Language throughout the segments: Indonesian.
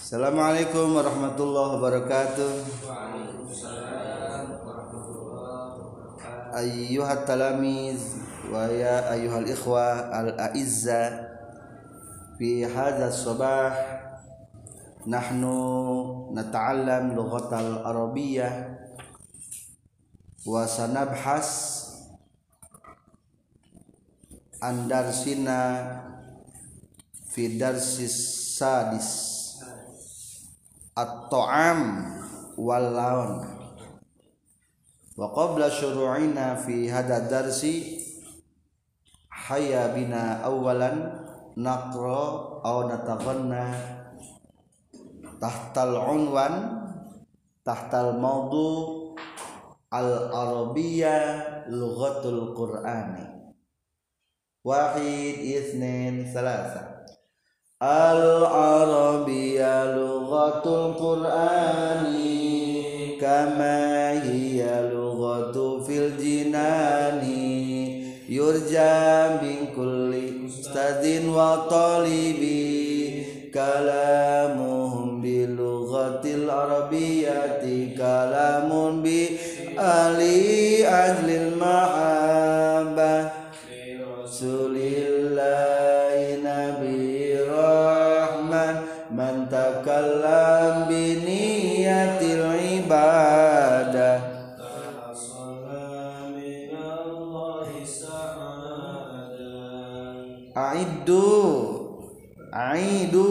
Assalamualaikum warahmatullahi wabarakatuh. Ayyuhat talamiz wa ya ayyuhal ikhwa al-a'izza fi hadha as-sabah nahnu nata'allam lughatal arabiyyah wa sanabhas an darsina fi darsis sadis at-ta'am wal laun. Wa qabla syuru'ina fi hadha darsi hayya bina awalan naqra aw nataghanna tahtal unwan tahtal mawdu al-arabiyya lughatul qur'ani. Wahid itsnain thalatha. Al-arabiyya lughatul qur'ani kama hiya lughatu fil jinani yurja min kulli ustadin wa talibi kalamuhum bi lughatil arabiyyati kalamun bi ali ajlil mahabbah Rasulillahi nabi rahman man takallam bi niyatil ibadah aidu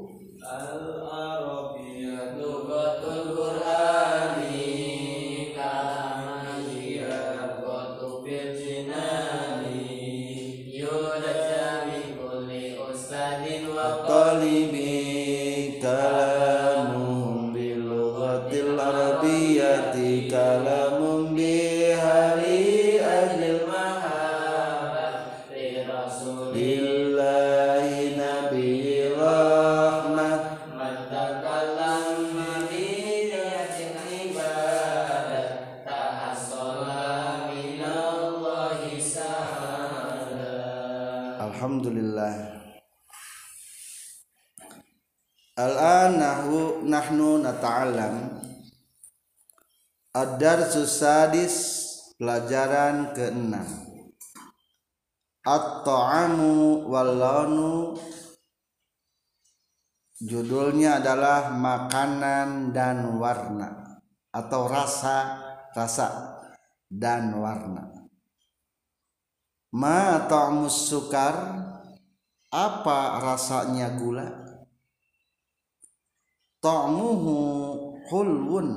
al-arabiyyah lughatul qur'ani kama hiya lughatu fil jinani yurja min kulli ustadin wa talibi kalamuhum bi lughatil arabiyyati kalamun bi hali ajlil mahabbah li rasulillahi nabi rahmah man takallama bi niyatil ibadah tahassala minallahi sa'ala. Alhamdulillah. Al-an nahnu nata'allam ad-darsus sadis, pelajaran ke-6. At-ta'amu wal launu, judulnya adalah makanan dan warna atau rasa dan warna. Ma ta'mus sukar, apa rasanya gula? Ta'muhu hulwun,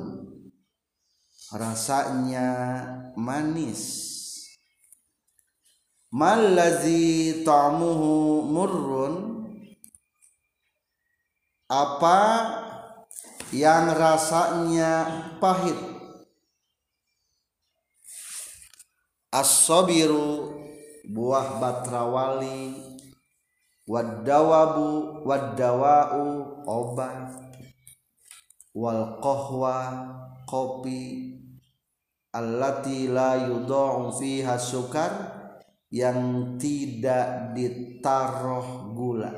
rasanya manis. Mallazi ta'muhu murrun, apa yang rasanya pahit? As-sabiru, buah batrawali. Wad-dawabu, wad-dawa'u, obat. Wal qahwa, kopi. Allati la yudha'u fiha sukar, yang tidak ditaruh gula.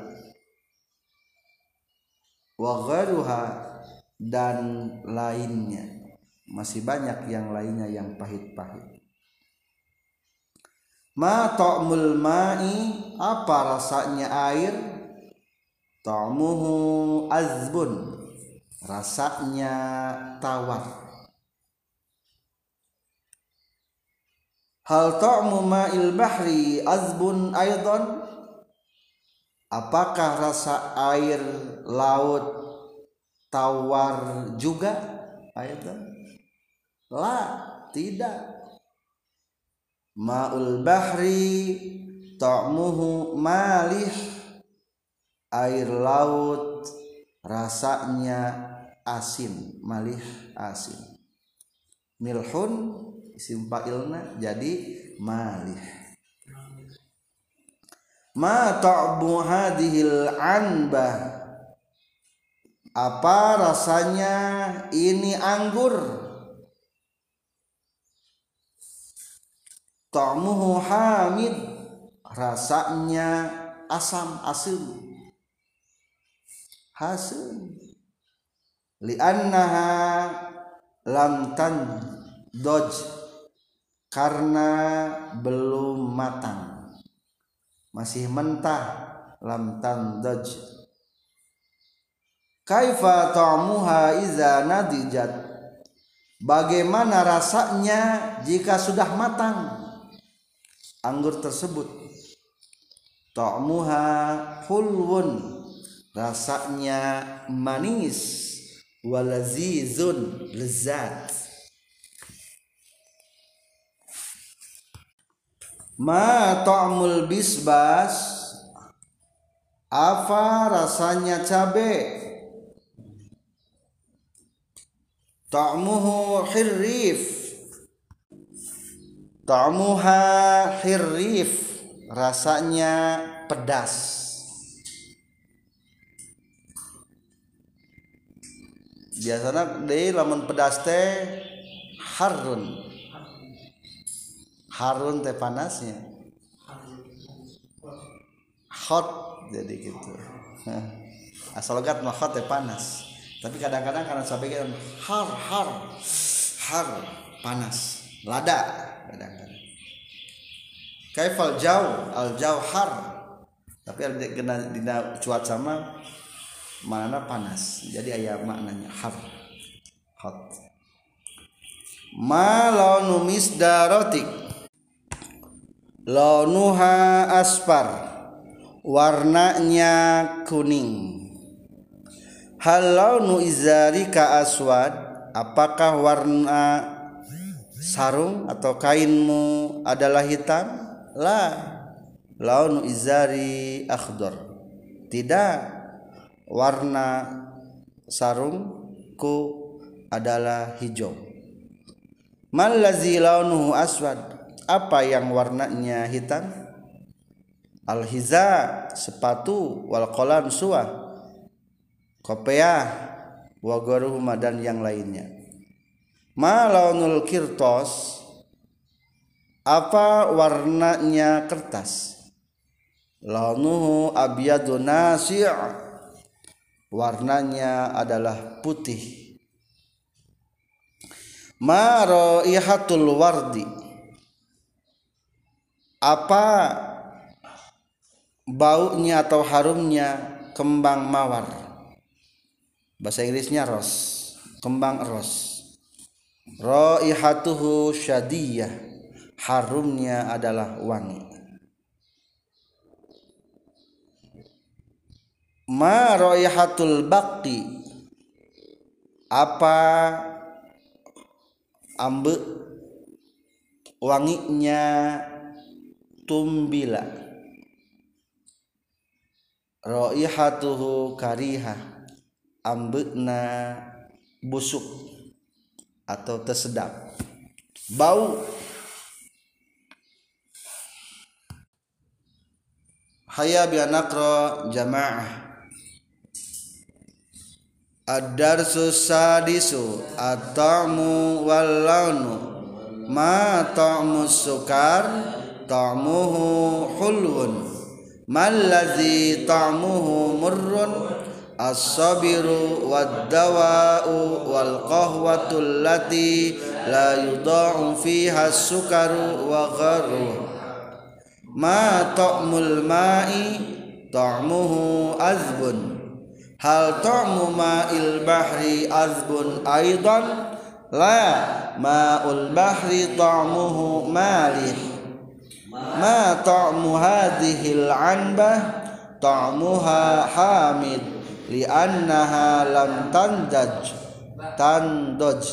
Wa ghairuha, dan lainnya, masih banyak yang lainnya yang pahit-pahit. Ma ta'mul ma'i, apa rasanya air? Ta'muhu azbun, rasanya tawar. Hal ta'mu ma'il bahri azbun aidan, apakah rasa air laut tawar juga? Aidan la, tidak. Ma'ul bahri ta'muhu malih, air laut rasanya asin, malih asin. Milhun isim fa'ilna jadi malih. Ma ta'bu hadhil anbah, apa rasanya ini anggur? Ta'muhu hamid, rasanya asam, asin. Hasil li'annaha lam tandoj, karena belum matang, masih mentah. Lam tandoj. Kaifa ta'muha iza nadijat, bagaimana rasanya jika sudah matang anggur tersebut. Ta'muha hulwun, rasanya manis, walazizun, lezat. Ma ta'mul bisbas, apa rasanya cabe. Ta'muhu hirrif, ta'muha hirrif, rasanya pedas. Biasanya deui lamun pedas teh harun. Harun teh panasnya. Hot jadi gitu. Asal logat mah hot teh panas. Tapi kadang-kadang karena sebagian har panas, lada kadang-kadang. Kaifal al jauhar, tapi dina cuaca sama mana panas, jadi aya maknanya har, hot. Ma launu misdarotik, launuha asfar, warnanya kuning. Hal launu izarika aswad, apakah warna sarung atau kainmu adalah hitam? La, launu izari akhdar, tidak, warna sarungku adalah hijau. Mal ladzi launuhu aswad, apa yang warnanya hitam? Al hiza, sepatu, wal qalam, suah, kopiah, wa gharuhuma, dan yang lainnya. Ma launul kirtos, apa warnanya kertas? Launuhu abyadun nasi', warnanya adalah putih. Ma raihatul wardi, apa baunya atau harumnya kembang mawar? Bahasa Inggrisnya ros, kembang ros. Raihatuhu syadiyah, harumnya adalah wangi. Ma raihatul baqi, apa ambe wanginya tumbila. Raihatuhu karihah, ambekna busuk atau tersedap, bau. Hayya bi anaqra jamaah. Ad-darsu sadisu at-ta'mu wal launu. Ma ta'mu sukar, ta'muhu hulwun. Mal ladzi ta'muhu murrun, as-sabiru wad-dawa'u wal qahwatu allati la yudha'u fiha as-sukaru wa gharuhu. Ma ta'mul ma'i, ta'muhu azbun. Hal ta'mu ma'il bahri azbun aidan? La, ma'ul bahri ta'muhu malih. Ma ta'mu hadhil anbah, ta'muha hamid, li'annaha lam tandoj.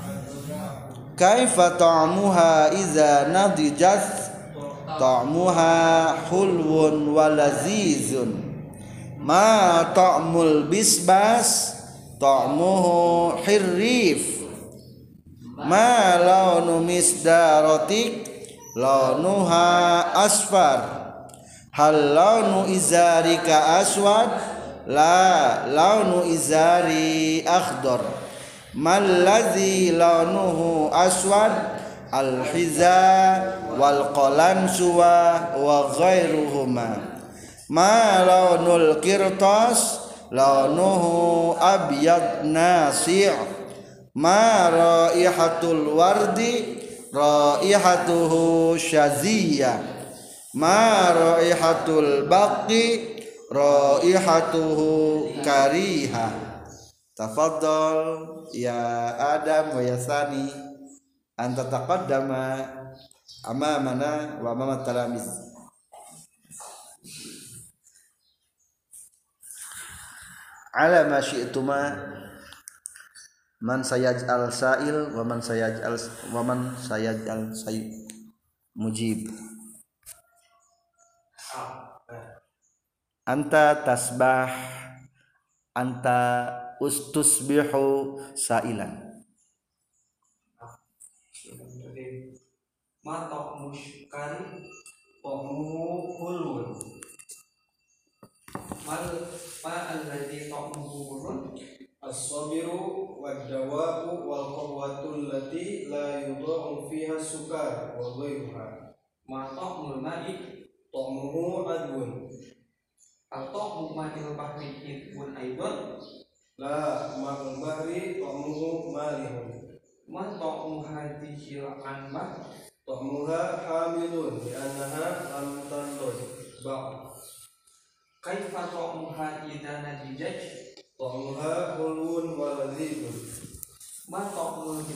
Kaifa ta'muha iza nadijat, ta'muha hulwun walazizun. Ma ta'mul bisbas, ta'muhu hirrif. Ma launu misdarotik, launuha asfar. Hal launu izarika aswad? La, launu izari akhdar. Mal ladzi launuhu aswad? Al hiza wal qalam suwa wa ghairuhuma. Ma launul kirtas, launuhu abyad nasi' ma raihatul wardi raihatuhu syaziyah ma raihatul baqi raihatuhu karihah. Tafadhal ya Adam wa ya Sani anta taqaddama amamana wa amama talamiz. Ala ma syi'tuma man sayaj'al sa'il wa man sayaj'al mujib. Anta tasbah anta ustusbihu sa'ilan. Ma ta'mu syukari ta'muhu hulun. Ma alladhi ta'muhu hulun as-sabiru wad-dawa'u wal qawwatu allati la yudha'u fiha sukar wa ghayruha. Ma ta'mul ma'i ta'muhu adwun. Atau ma'il bahri idwun aidon. La ma'ul bahri ta'muhu malihun. Ma ta'mu hadhihi al-anbah ta'muha hamilun li'annaha lam tanḍud ba'. Kaifa ta'muha idza nadijat ta'muha hulun wa ladzizun. Ma ta'mul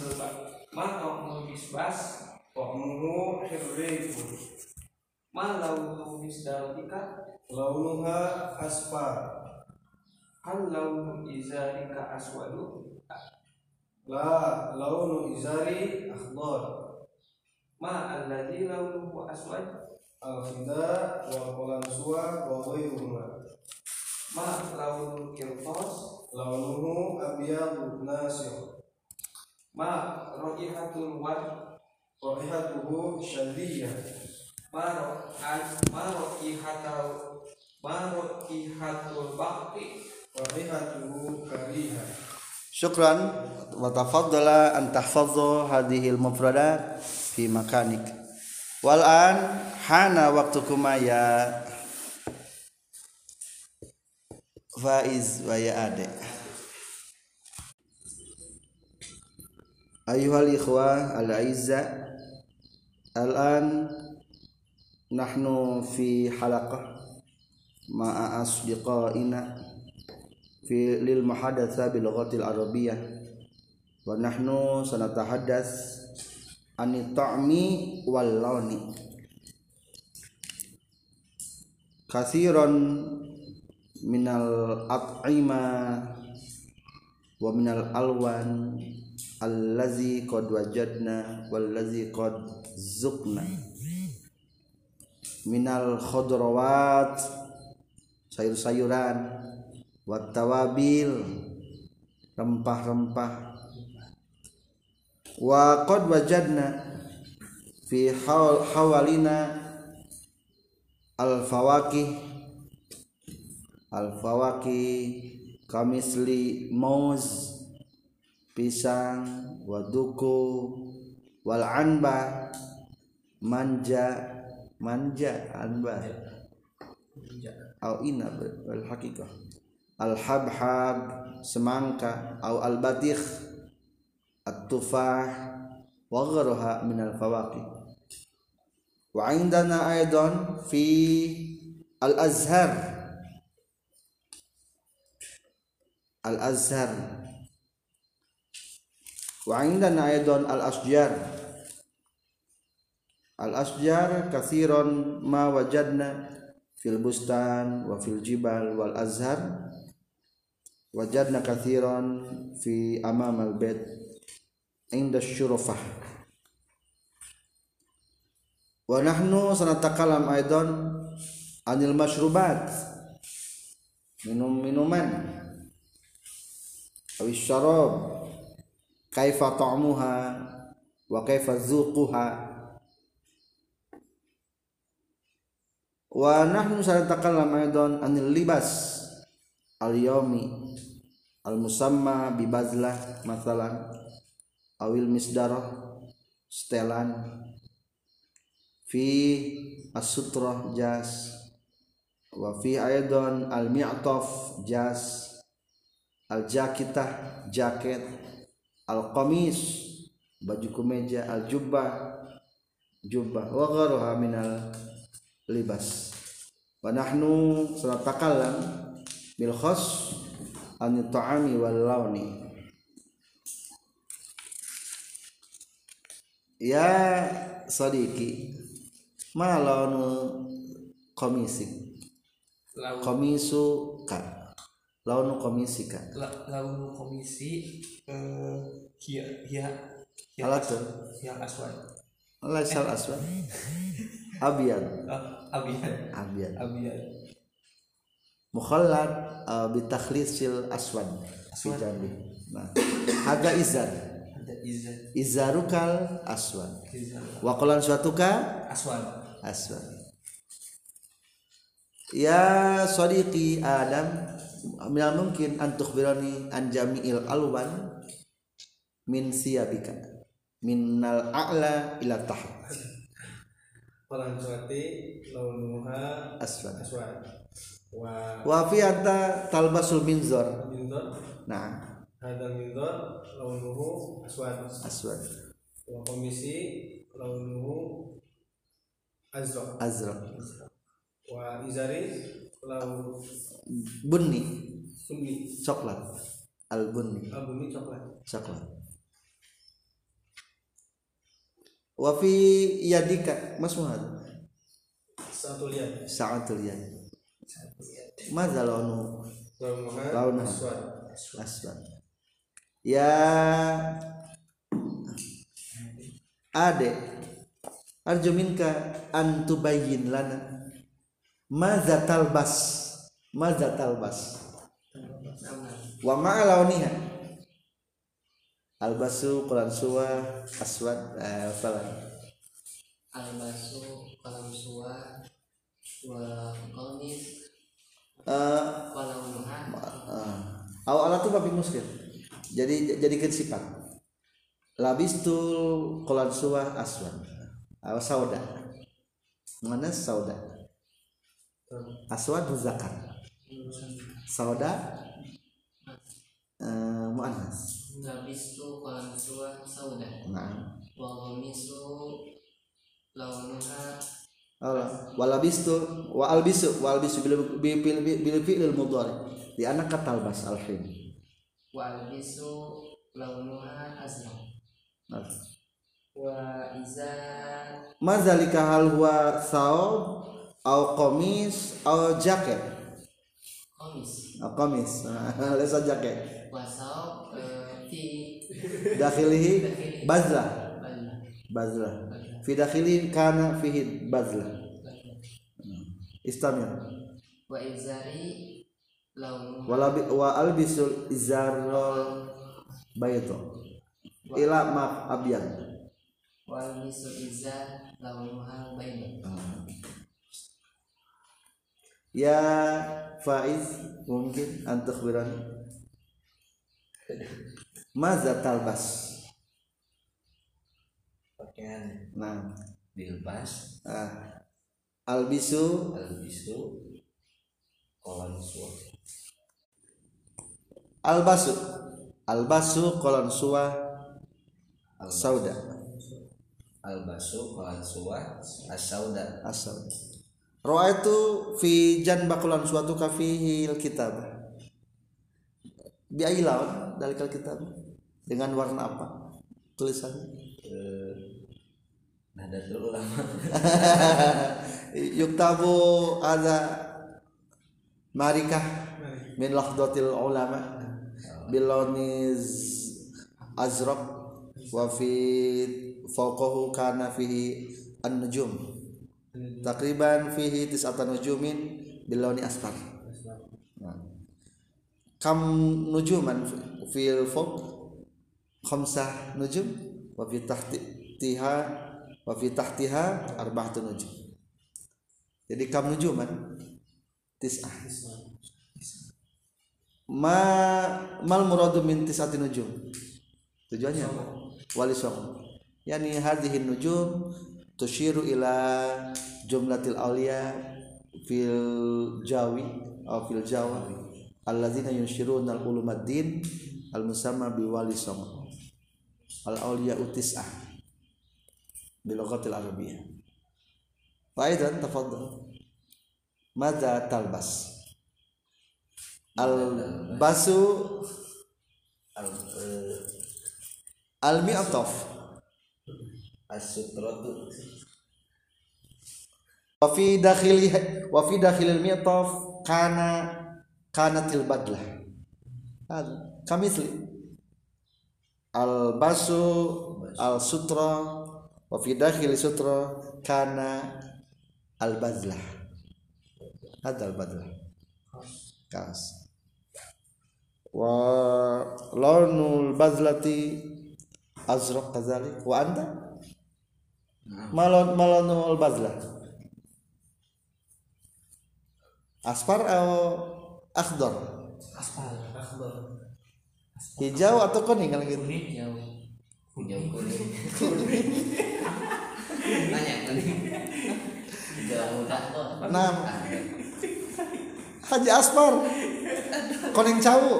bisbas ta'muhu hirrifun. Ma launu misdalika launuha asfar. Hal launu izarika aswadu. La launu izari akhdar. Ma alladhi launuhu aswad al-khida wal qalansuwa wa ghayruhuma. Ma launul qirtas launuhu abyadu nasir. Ma raihatul wad raihatuhu syadiyah. Ma raihatul baqi raihatuhu karihah. Syukran wa tafaddala an tahfadhu hadhil mufradat fi makanik. Wal an hana waqtukuma ya Faiz wa ya Ade. Ayuhal ikhwah al-aizza, al-an nahnu fi halaqah ma'a asdiqaina fi lil muhadatsa bil lughatil arabiyyah wa nahnu sanatahadats anit ta'mi wal launi. Katsiran minal at'ima wa minal alwan allazi qad wajadna wallazi qad zuqna minal khudrawat sayur-sayuran wat tawabil rempah-rempah wa qad wajadna fi hawalina al fawakih kamisli mauz pisang waduku wal anba manja anba au inab wal haqiqah al habhab semangka au al batikh at-tufah wa ghayruha min al fawaqih. Wa indana aidan fi al azhar wa indana aidan al asjar katsiran ma wajadna fil bustan wa fil jibal wal azhar wajadna katsiran fi amam al bait inda syurufah. Wa nahnu sanatakalam aidan anil masyrubat minuman awis syarab kaifa ta'muha wa kaifa zuquha. Wa nahnu sanatakalam aidan anil libas al yawmi al musamma bi bazlah masalan awil misdarah setelan fi as-sutrah jas wa fi aidan al mi'taf jas, al jakitah jaket, al qamis baju kemeja, al jubbah jubbah, wa gharuha minal libas. Wa nahnu sanatakallam bil khas an ta'ami wal launi. Ya sadiqi ma launu qamisik qamisuka launu qamisika launu komisi hiya alatun yang aswad laisal aswad abyad abiyad mukhallad bi takhlisil aswad fi jambi. Nah haga izar izarukal aswad wa qalan suatuka aswad. Ya sadiqi Adam, minal mungkin an tukhbirani an jami'il alwan min siyabika minnal a'la ila taht. Qalan suati launuha aswad wa fi anta talbasul minzar. minzar Nah hadal minzar launuhu aswad wa komisi launuhu azraq wa izari launu bunni sunni coklat al bunni coklat. Wa fi yadika masmuhad sa'atul yad madza launu aswad. Ya ade arju minka an tubayyin lana madza talbas wa ma'a launiha albasu qulan suwa aswad falan albasu qalam suwa wa qamis walaunuha awalatu babi muskil jadi sifat labistul qulan suwa aswad sauda mana sauda aswad muzakkar sauda muannas labistu qalam suwa sauda nah wa qamisu launuha walabistu wa albisu bil fi'lil mudhari di anak talbas alhin wa albisu launuha azraq wa iza mazalika hal huwa saub au qamis au jaket qamis lesa jaket wa saub fi dakhilihi bazlah fi dakhili kana fihi bazlah istamir wa izari launu wa albisul izarul baydo ila ma abyad wa albisul izar launuha baydo. Ya Faiz mungkin antuk biran maza talbas pakaian nah dilbas albisu qalam suwa albasu qalan suwa sauda albasu qalam suwa as-sauda ra'aitu fi janbakulan suatu kafihil kitab bi ayi lawan dalikal kitab dengan warna apa tulisannya Nahdlatul Ulama yuktabu ada marikah min lahdatil ulama biloniz azraq wa fi fawqahu kana fihi an-nujum takriban fihi tis'atan nujumin bilawni asfar. Kam nujuman fil fawq khamsah nujum wa fi tahtiha arba'atun nujum. Jadi kam nujuman tis'ah. Mal muradu min tis'ati nujum. Tujuannya wali sawm. Yani hadhihi nujum tushiru ila jumlatil awliya fil jawi atau fil jawa alladzina yunshiruna al-ulumaddin al-musamma biwali sama al-awliya utis'ah bilughatil arabiyyah. Faidan tafaddal. Madza talbas? Al-basu al-mi'taf as-sutratu wa fi dakhilil mi'taf kanatil badlah. Kamitsli al-basu al-sutra wa fi dakhil sutra kana al-badlah. Hadal badlah kaos wa launul bazlati azraq kadzalik wa anta malonul bazlah asfar atau akhdar hijau atau kuning kalau gitu hijau kuning banyak kuning hijau muda kok nah Haji Asfar kuning cawu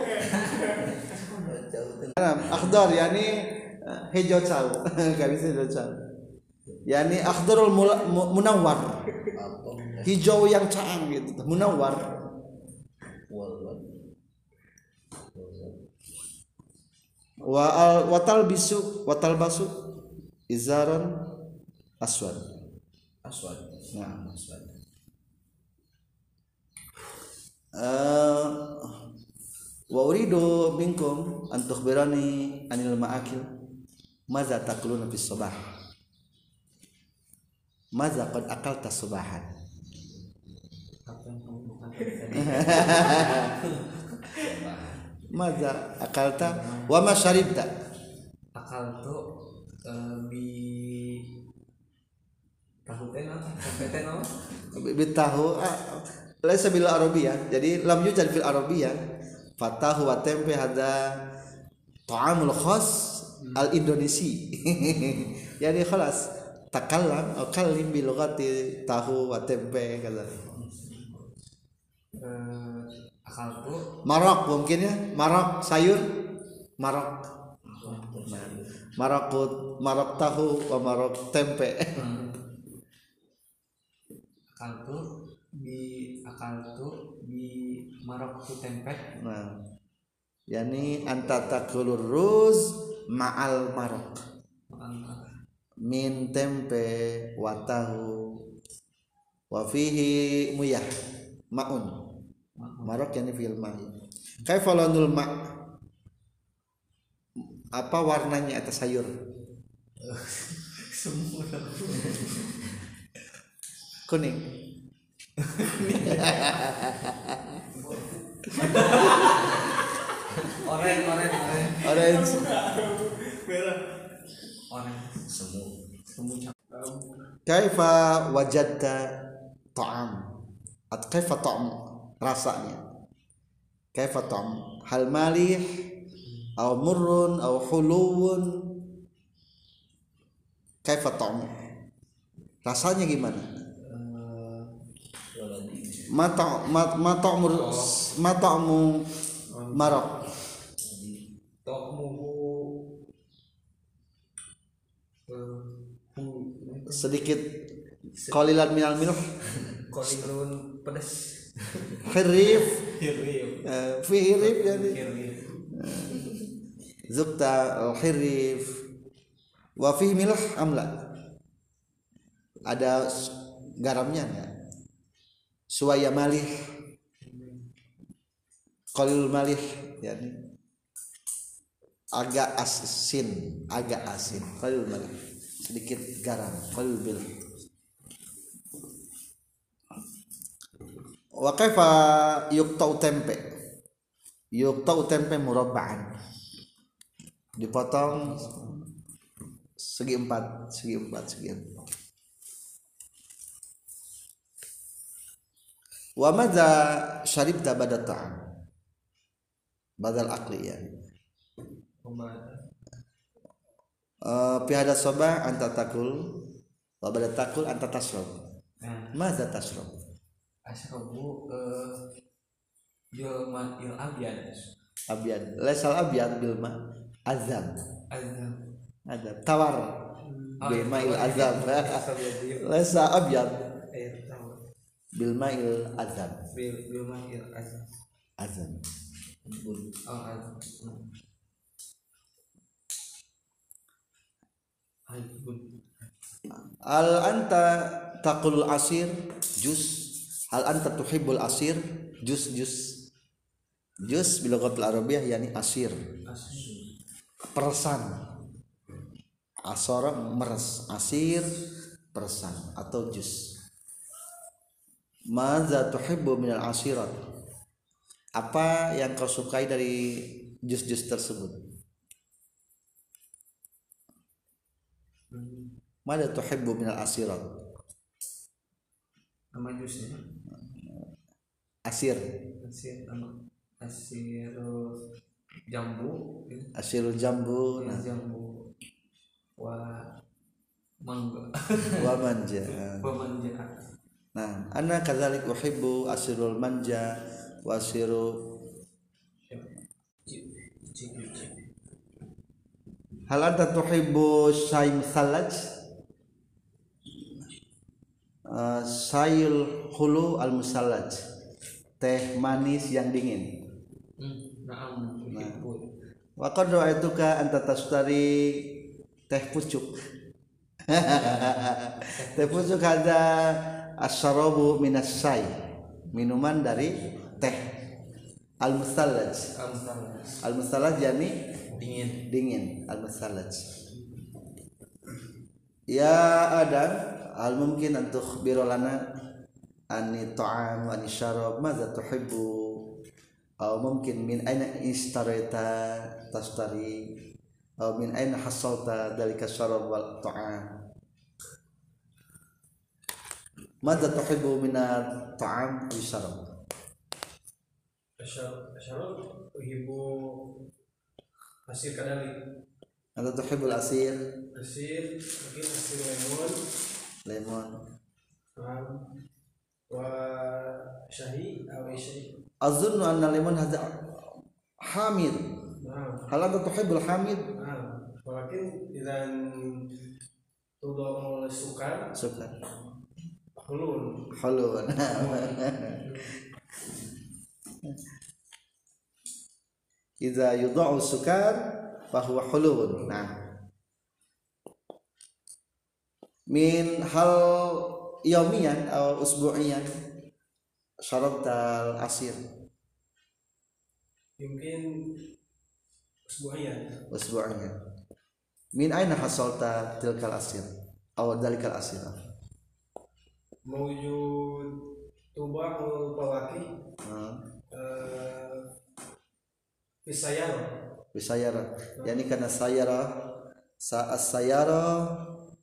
akhdar yani hijau cawu enggak bisa hijau cawu yani akhdarul munawwar hijau yang caang gitu munawwar wa talbasu izaran aswad nah aswad wa uridu minkum an tukhbirani anil ma'akil madza taquluna fis sabah madza qad akalta subahan madza akalta wa ma syaribta akaltu bi tahu bitahu laisa bil arabiyah jadi lam yujad fil arabiyah fatahu wa tempe hada ta'amul khas al indonesi yani khalas takallam atau kalim bi lughati tahu wa tempe kata akaltu marok mungkin ya marok sayur marok marok tahu wa marok tempe akaltu bi maroktu tempe nah yani anta takulur ruz ma'al marok min tempe wa tahu wa fihi muyah ma'un marok yani fil ma'i kaifa launul ma' apa warnanya atas sayur semua kuning orange merah semu kaifa wajadta ta'am atau kaifa ta'am rasanya kaifa ta'am hal malih aw murrun aw hulun kaifa ta'am rasanya gimana mata'mu marok sedikit qalilan minal milh qalilun pedas khirif hirif fi hirif jadi zukta al-hirif wa fi milh amla ada garamnya enggak suwaya malih qalil malih yani agak asin qalil malih sedikit garam qalil bil wa kaifa yuqta'u tempe murabba'an dipotong segi empat wa madza syaribta badal ta'am badal akli ya fi hada sabah anta takul wa badal takul anta tashrab madza tashrab Asrobu Yulma il abian. Abyad laisal abyad bil ma azam Azam. tawar bil ma'il azam laisa abyad Air tawar. bil ma'il azam Yulma il azam. azam Oh azam. Albun. al anta taqul asir jus hal anta tuhibbul asir jus bilughatil arabiyyah yani asir persan asara meres asir persan atau jus madza tuhibbu minal asirat apa yang kau sukai dari jus-jus tersebut madza tuhibbu minal asirat Nama jusnya asir asir jambu. asirul jambu nah Jambu. Mangga. wa manja Pemanja. nah ana kadzalik uhibbu asirul manja wa asiru hal anta tuhibbu syai musallaj sayul hulu al musallaj teh manis yang dingin Naam. wa qad ra'aituka anta tashtari teh pucuk teh pucuk ada asyarabu minas syai minuman dari teh al musallaj yani dingin al musallaj ya adam al mungkin an tukhbiru lana ani ta'am wa ani syarab madza tuhibbu aw mungkin min aina istarayta tashtari aw min aina hasalta dalika syarab wal ta'am madza tuhibbu min at-ta'am wa syarab Asyarab uhibbu asir kadali. anta tuhibbul asir Asir mungkin asir lemon wa syahi atau syahi. azunnu anna lemon hadza hamid Naam. hal anta tuhibbul hamid Naam. Walakin idan tudau sukar suka hulun. halun idza yudau sukar fahuwa hulun nah min hal yaumiyan atau usbu'iyan syarabtal asir Mungkin usbu'iyan min aina hasalta tilkal asir aw dalikal asir mewujud tubah pawaki bisayara yani kana sayara saat sayara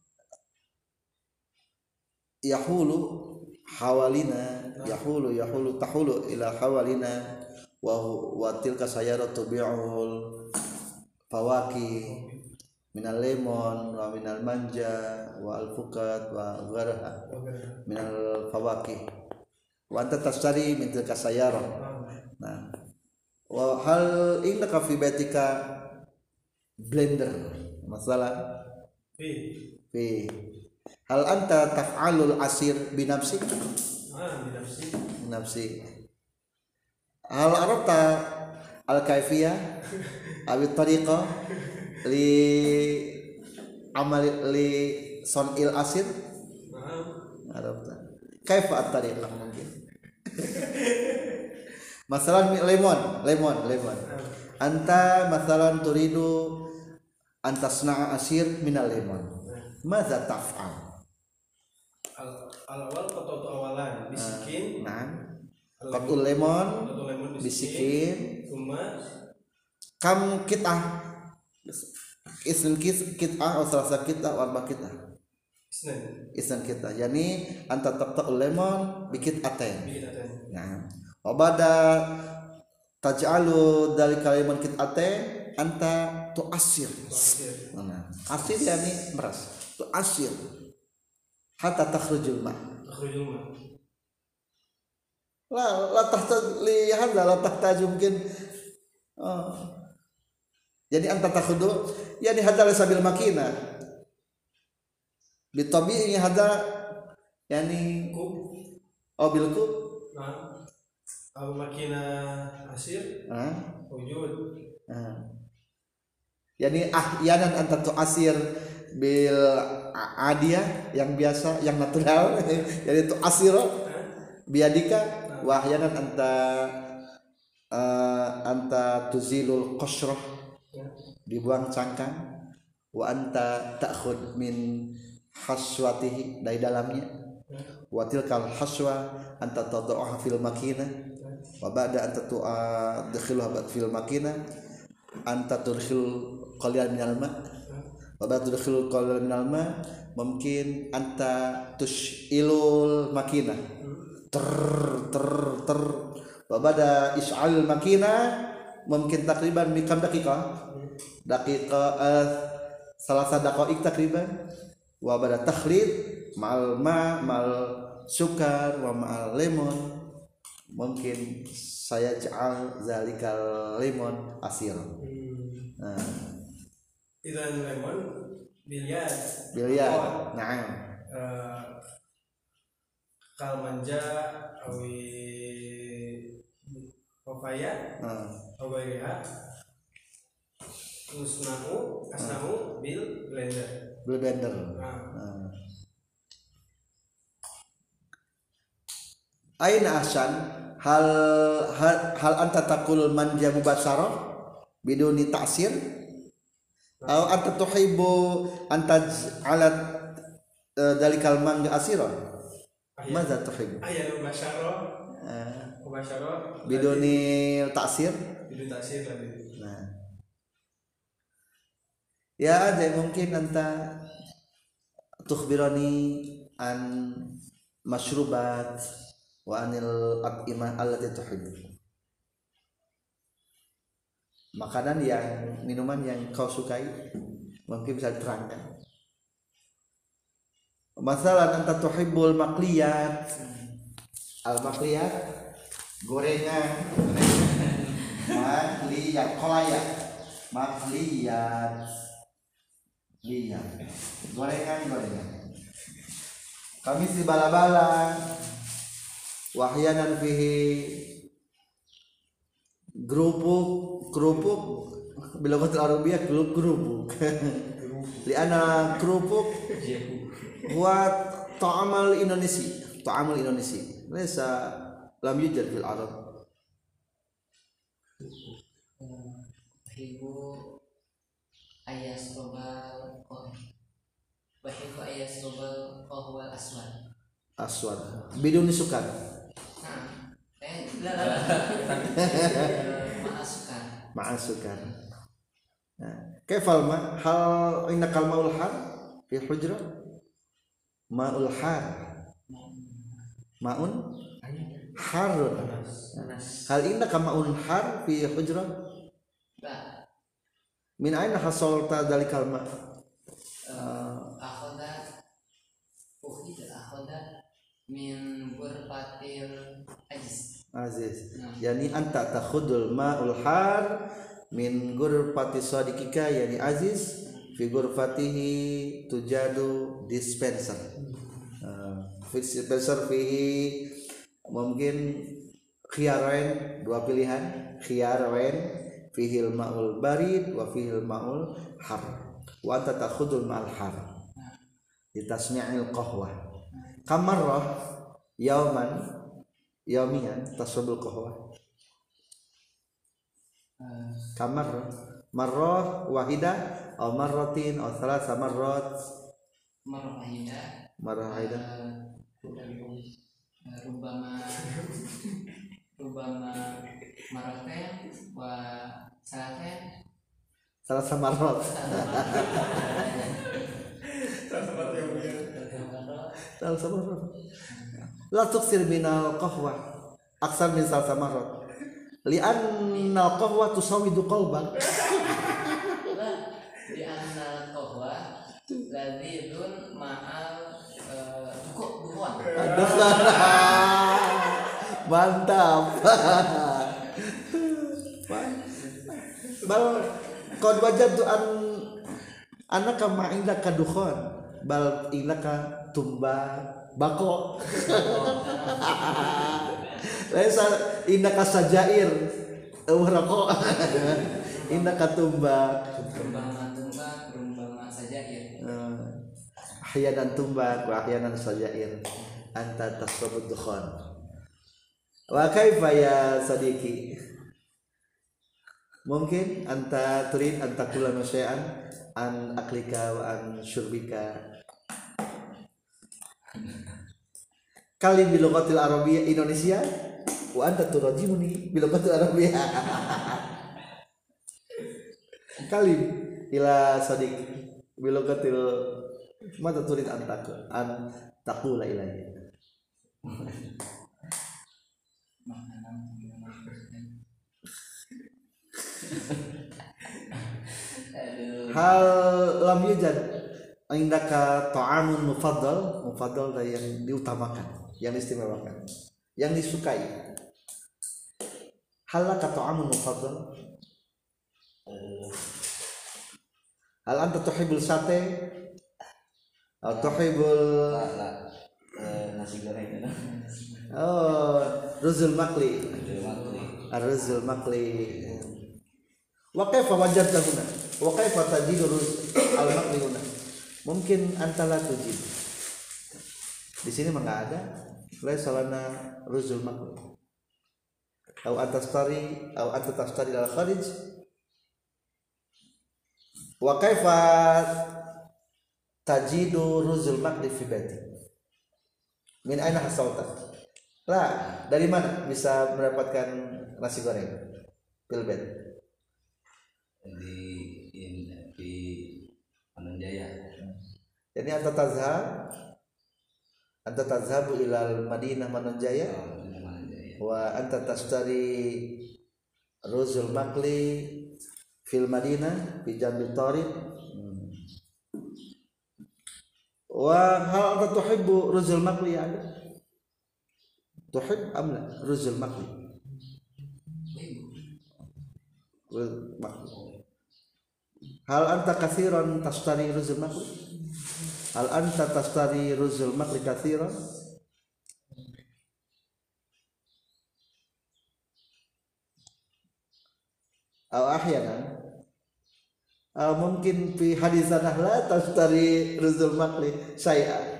yahulu hawalina yahulu tahulu ila hawalina wa tilka sayaratu bi'ul fawaki minal lemon wa minal manja wa alfukat wa gharaha minal fawaki wa anta tashtari min tilka sayara nah wa hal indaka fi baitika blender masalah fi hal anta taf'alul asir binafsik binafsi hal arabta al kaifiyah awi tariqah li amal li sonil asir arabta kaifa at tariqah mungkin masalan lemon anta masalan turidu antasna'a asir minal lemon madza taf'al al-awal qatatu awalan bisikin qatul lemon bisikin kam kitah isn kitah atau salasa kitah wa arba kitah isn kitah yani anta taqtul lemon bikit aten nah wabada taj'alu dalika lemon kit'aten anta tu'asir nah asir yani meras tu'asir hatta takhrujul ma la tahta lihat la tahta mungkin jadi anta takhudu yani hadza laysa bil makina bitabi'i hadza yani Kub. bil kub Nah. Al makina asir. Wujud. Yani ahyanan anta tu'asir bil adiyah yang biasa yang natural jadi tu'asiro biadika wa ahyanan anta tuzilul qashrah dibuang cangkang wa anta ta'khud min haswatihi dari dalamnya wa tilkal haswa anta tad'uha fil makinah wa ba'da anta tudkhiluha fil makinah anta tudkhil qalilan minal ma wa ba'da tudkhil qalilan minal ma mungkin anta tushilul makinah ter wa ba'da is'al makinah mungkin takriban mikam daqiqah salasa daqa'iq takriban wa ba'da takhlid ma'al ma'al sukar wa ma'al lemon mungkin saya ja'al zalikal lemon asir. Idan lemon biliar. Na'am. Kal manja awi papaya awairiha asnahu bil blender. Aina ahsan hal anta taqul manja mubasyarah biduni ta'sir atau anta tuhibbu anta alat dalikal manga asiran madza tuhibbu mubasyarah biduni ta'sir tadi. nah ya ada mungkin anta tukhbirani an masyrubat wa anil at'imah allati tuhibbu makanan yang minuman yang kau sukai mungkin bisa diterangkan. Masalah anta tuhibbul maqliyat al maqliyat gorengan makliyat gorengan kami si bala-bala wahyanan fihi kerupuk bilaghatul arabiyyah kerupuk liana kerupuk buat ta'amal Indonesia laysa lam yujad fil arab Ibu ayas robal kohwal aswad biduni sukar ma'asukar kaifal ma hal innakal ma'ul har fi hujrah ma'ul har ma'un harun hal innaka ma'un har fi hujrah min aina hasalta dalikal ma akhoda min ghurfatil aziz yani anta takhudul ma'ul har min ghurfati sadiqika yani aziz fi ghurfatihi tujadu dispenser fihi mungkin khiyarain dua pilihan khiyarain fihil ma'ul barid wa fihil ma'ul har wa anta takhudul ma'al har litasmi'il qahwah kamarrah yaumian tasrabul qahwah marrah wahida atau marratin atau thalatha marrat marrah wahida rubama marratain wa thalatha marrat la tuksir minal qahwah aksar min thalatha marrat li'anna al-qahwa tusawidu qalbak li'anna al-qahwa ladzidun ma'al dukhon Mantap. Bal qad wajadtu annaka ma indaka dukhon bal indaka tumba bako. Laisa indaka sajair rokok. Indaka tumba sajair. Ahyanan tumba wa ahyanan sajair. Anta tasrabud dukhon. Wa kaifa ya sadiqi? Mungkin anta turid anta kula masya'an an aklika wa an syurbika. Kali bilughatil arabiyyah Indonesia wa anta turajimuni bilughatil arabiyyah. Kali ila sadiq bilughatil mata turid an taqula ilayya. Hal lam yujad indaka ta'amun mufaddal yang diutamakan, yang diistimewakan, yang disukai. Halaka ta'amun mufaddal? Hal anta tuhibbul sate? Atau tuhibbul nasi goreng? Oh, ruzul makli. Ar-ruzul makli. Wa kaifa wajadta huna? Wa kaifa tajidu al-makli huna? Mungkin anta la tujid. Di sini mah enggak ada. Laisa lana ruzul makli. Au anta tastari al kharij. Wa kaifa tajidu ruzul makli fi baiti? Min aina hasalta? Lah, dari mana bisa mendapatkan nasi goreng? Pilbet. Di Manunjaya. Jadi anta tazhabu ila Madinah Manunjaya wa anta tashtari ruzul makli fil Madinah fi jambil tariq. Wa hal anta tuhibbu ruzul makli ya? Tuhib am la ruzul makli? Hal anta katsiran tashtari ruzul makli? Hal anta tashtari ruzul makli katsiran? Aw ahyanan? Mungkin fi hadisanah la tashtari ruzul makli syai'a.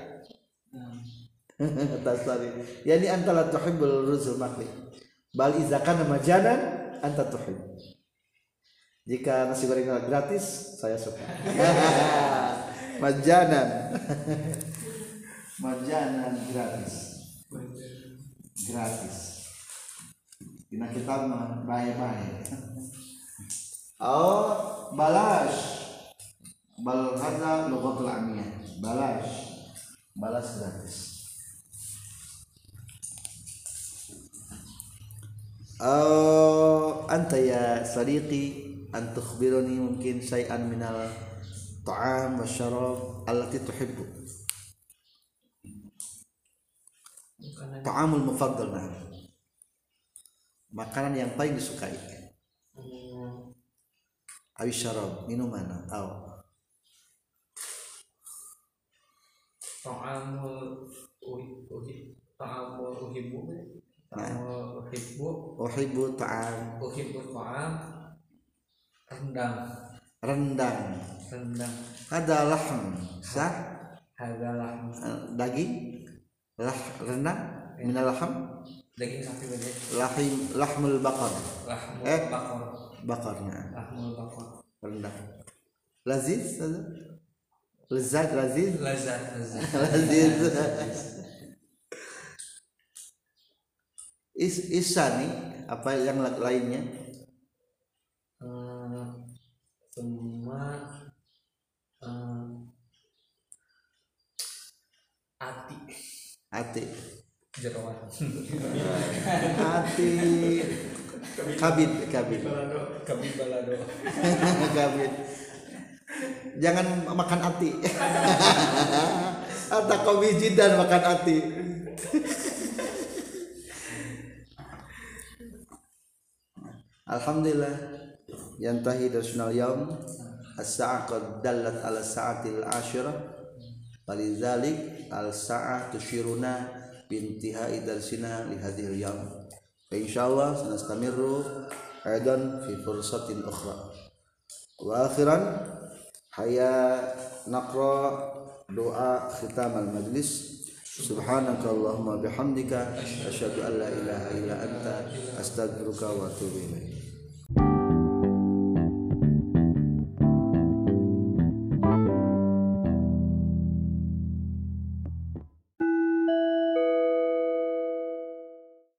Tashtari. Yani anta la tuhibbul ruzul makli. Bal iza kana majanan anta tuhib. Jika nasi goreng gratis, saya suka. Majanan. Majanan gratis. Gratis. Dina kitab mah bae-bae. Oh, balash. Bal hadza lughatul amiyah. Balash. Balas gratis. Anta ya sadiqi an tukhbiruni mungkin syai'an minal ta'am wa syarab allati tuhibbu. Ta'amul mufaddal, makanan yang paling disukai. Awi syarab, minuman atau ta'amul uhibbu ta'am rendang ada lahm sah daging rendang minal lahm daging sapi beda lahmul bakar bakarnya lahmul bakar rendang laziz lezat laziz isani apa yang lainnya semua ati jerawan ati kabid balado kabid jangan makan ati atau kau biji dan makan ati Alhamdulillah yantahi darsunal yaum as-sa'ah qad dallat ala sa'atil ashirah walidzalik al-sa'ah tusyiruna bintihai darsina li hadhil yaum fa insyaallah sanastamiru aidan fi fursatin ukhra wa akhiran haya naqra doa khitam al-majlis subhanakallahumma bihamdika asyhadu an la ilaha illa anta astaghfiruka wa atubu ilaik.